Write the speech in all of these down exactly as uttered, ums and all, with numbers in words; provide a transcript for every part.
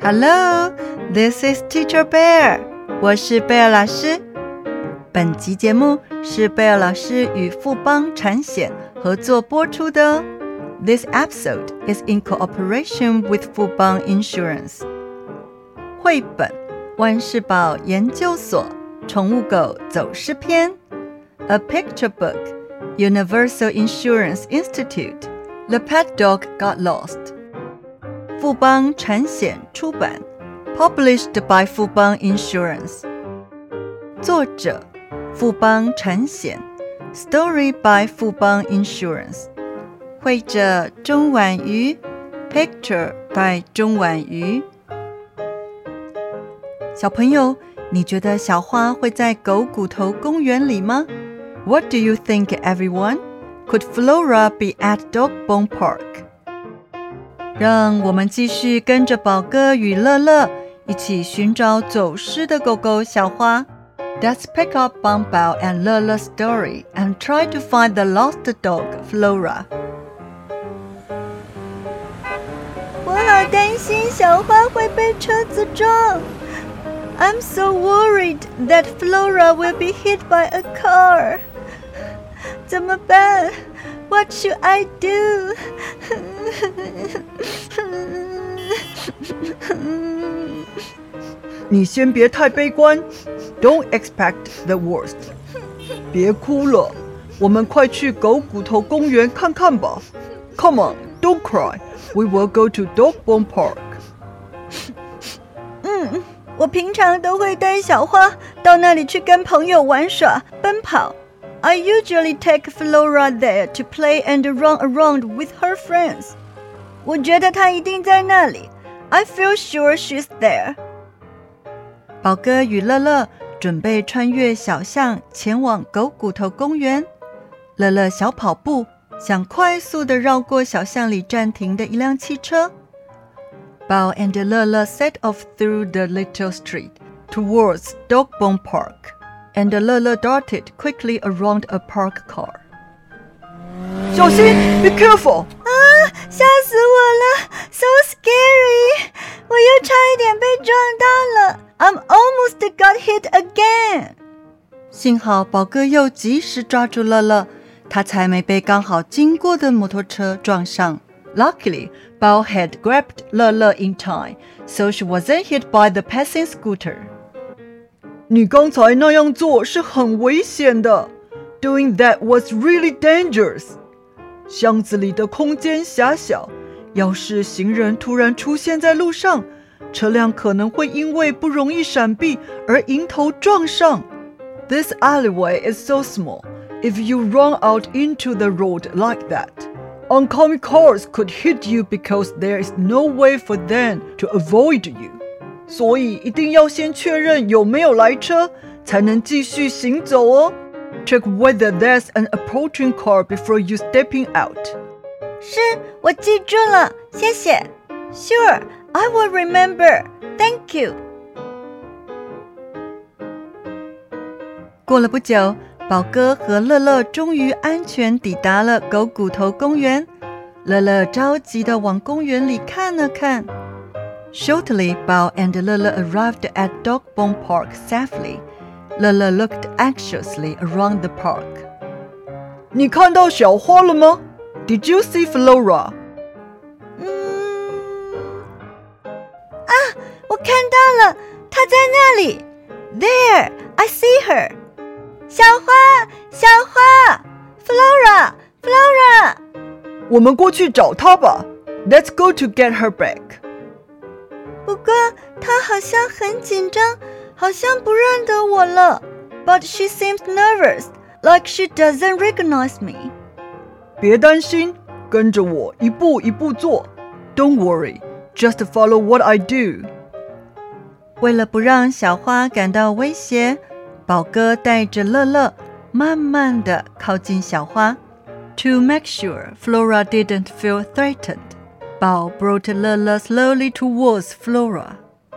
Hello, this is Teacher Bear. 我是貝爾老師。本集節目是貝爾老師與富邦產險合作播出的哦。This episode is in cooperation with Fubon Insurance. 繪本萬事寶研究所寵物狗走失篇 A picture book Universal Insurance Institute The Pet Dog Got Lost 富邦產險出版 Published by Fubon Insurance 作者富邦產險 Story by Fubon Insurance 繪者鍾婉瑜 Picture by 鍾婉瑜小朋友，你覺得小花會在狗骨頭公園裡嗎？ What do you think, everyone? Could Flora be at Dogbone Park? 讓我們繼續跟着寶哥與樂樂一起尋找走失的狗狗小花。Let's pick up Bongbao and Lele's story and try to find the lost dog, Flora. 我好擔心小花會被車子撞。I'm so worried that Flora will be hit by a car. 怎麼辦 What should I do? 你先別太悲觀 Don't expect the worst. 別哭了，我們快去狗骨頭公園看看吧。Come on, don't cry. We will go to Dogbone Park. 嗯我平常都會帶小花到那裡去跟朋友玩耍、奔跑。I usually take Flora there to play and run around with her friends. 我覺得她一定在那裡。I feel sure she's there. 寶哥與樂樂準備穿越小巷前往狗骨頭公園。樂樂小跑步，想快速地繞過小巷裡暫停的一輛汽車。Bao and Lele set off through the little street towards Dogbone Park, and Lele darted quickly around a parked car. 小心 Be careful! 啊，嚇死我了 So scary! 我又差一點被撞到了 I'm almost got hit again! 幸好寶哥又及時抓住樂樂，他才沒被剛好經過的摩托車撞上。Luckily, Bao had grabbed Lele in time, so she wasn't hit by the passing scooter. 你剛才那樣做是很危險的 Doing that was really dangerous. 巷子裡的空間狹小，要是行人突然出現在路上，車輛可能會因為不容易閃避而迎頭撞上。This alleyway is so small. If you run out into the road like that,Oncoming cars could hit you because there is no way for them to avoid you. 所以一定要先確認有沒有來車，才能繼續行走哦。Check whether there's an approaching car before you stepping out. 是，我記住了，謝謝。Sure, I will remember. Thank you. 過了不久，寶哥和樂樂終於安全抵達了狗骨頭公園。樂樂着急地往公園裡看了看。Shortly, Bao and Lele arrived at Dogbone Park safely. Lele looked anxiously around the park. 你看到小花了嗎 Did you see Flora? 嗯，啊，我看到了，她在那裡。There, I see her.小花，小花 Flora, Flora 我們過去找她吧 Let's go to get her back 不過她好像很緊張，好像不認得我了 But she seems nervous, like she doesn't recognize me 別擔心，跟着我一步一步做 Don't worry, just follow what I do 為了不讓小花感到威脅，寶哥帶着樂樂慢慢地靠近小花。To make sure Flora didn't feel threatened, Bao brought Lele slowly towards Flora.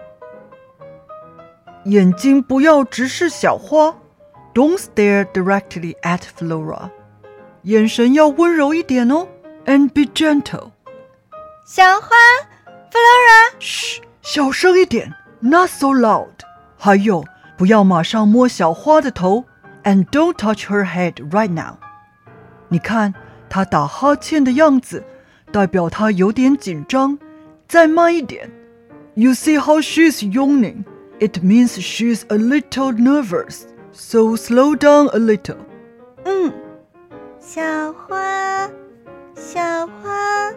眼睛不要直視小花 Don't stare directly at Flora. 眼神要溫柔一點哦 And be gentle. 小花 Flora 噓小聲一點 ，Not so loud。還有，不要馬上摸小花的頭 ，and don't touch her head right now。你看她打哈欠的樣子，代表她有點緊張。再慢一點 ，You see how she's yawning? It means she's a little nervous. So slow down a little. 嗯，小花，小花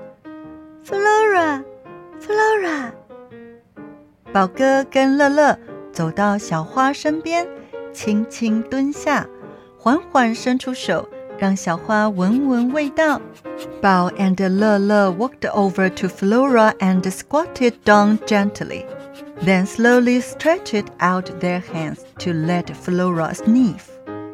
，Flora，Flora。Flora 寶哥跟樂樂走到小花身邊，輕輕蹲下，緩緩伸出手，讓小花聞聞味道。寶 and 樂樂 walked over to Flora and squatted down gently, then slowly stretched out their hands to let Flora sniff.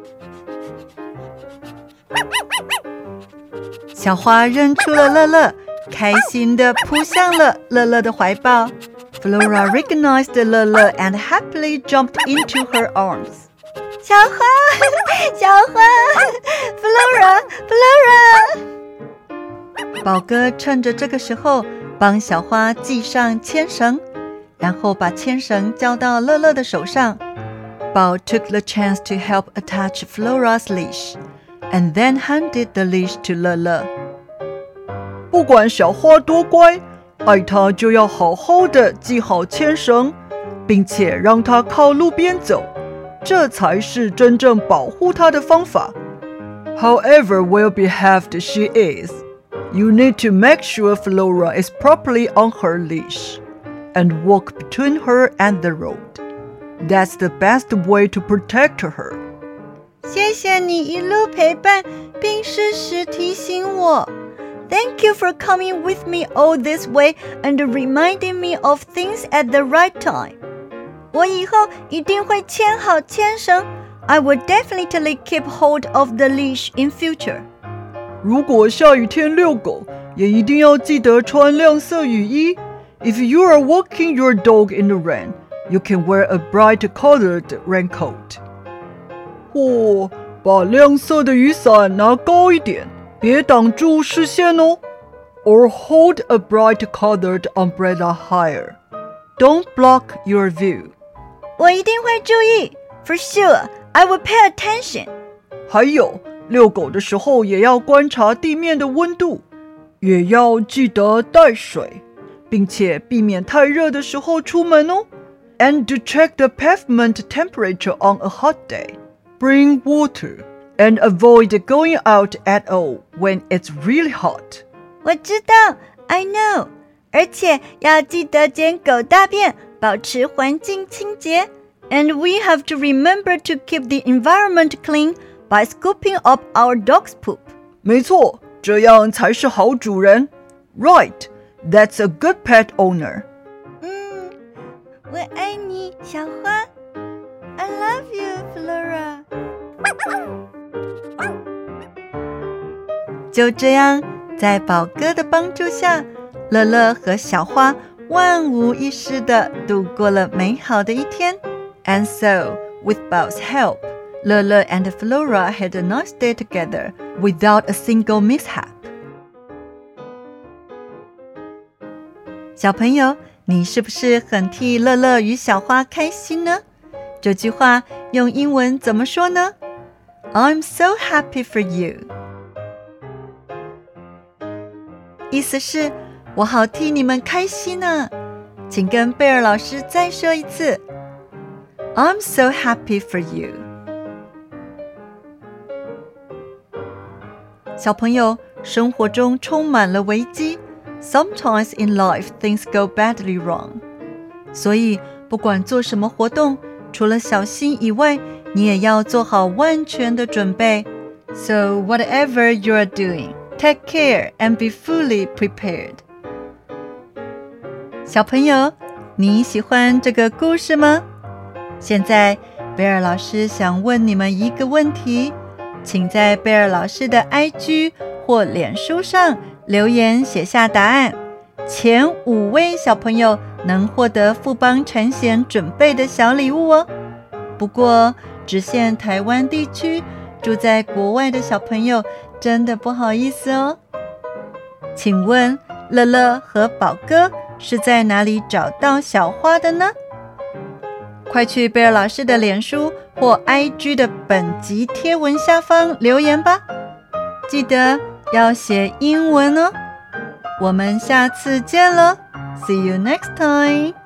小花認出了樂樂，開心地撲向了樂樂的懷抱。Flora recognized 樂樂 and happily jumped into her arms. 小花，小花 ，Flora，Flora。 寶哥趁着這個時候幫小花繫上牽繩，然後把牽繩交到樂樂的手上。寶 took the chance to help attach Flora's leash, and then handed the leash to 樂樂。 不管小花多乖，愛她就要好好的繫好牽繩，並且讓她靠路邊走，這才是真正保護她的方法。However well-behaved she is, you need to make sure Flora is properly on her leash and walk between her and the road. That's the best way to protect her. 謝謝你一路陪伴，並適時提醒我。Thank you for coming with me all this way and reminding me of things at the right time. 我以後一定會牽好牽繩。I will definitely keep hold of the leash in future. 如果下雨天遛狗，也一定要記得穿亮色雨衣。If you are walking your dog in the rain, you can wear a bright-colored raincoat. 或把亮色的雨傘拿高一點，別擋住視線哦。Or hold a bright-colored umbrella higher. Don't block your view. 我一定會注意。For sure, I will pay attention. 還有，遛狗的時候也要觀察地面的溫度，也要記得帶水，並且避免太熱的時候出門哦。And to check the pavement temperature on a hot day, bring water, and avoid going out at all when it's really hot. 我知道 I know. 而且要記得撿狗大便，保持環境清潔。And we have to remember to keep the environment clean by scooping up our dog's poop. 沒錯，這樣才是好主人。Right, that's a good pet owner. 嗯，我愛你，小花。I love you, Flora. 就這樣，在寶哥的幫助下，樂樂和小花萬無一失地度過了美好的一天。And so, with Bao's help, Lele and Flora had a nice day together without a single mishap. 小朋友，你是不是很替樂樂與小花開心呢？這句話用英文怎麼說呢？ I'm so happy for you. 意思是我好替你們開心啊。請跟貝爾老師再說一次。I'm so happy for you. 小朋友，生活中充滿了危機。Sometimes in life things go badly wrong. 所以不管做什麼活動，除了小心以外，你也要做好萬全的準備。So whatever you are doing, take care and be fully prepared. 小朋友，你喜歡這個故事嗎？現在貝爾老師想問你們一個問題，請在貝爾老師的 I G 或臉書上留言寫下答案。前五位小朋友能獲得富邦產險準備的小禮物哦。不過只限台灣地區，住在國外的小朋友真的不好意思哦。請問樂樂和寶哥是在哪裡找到小花的呢？快去貝爾老師的臉書或 I G 的本集貼文下方留言吧，記得要寫英文哦。我們下次見了，See you next time。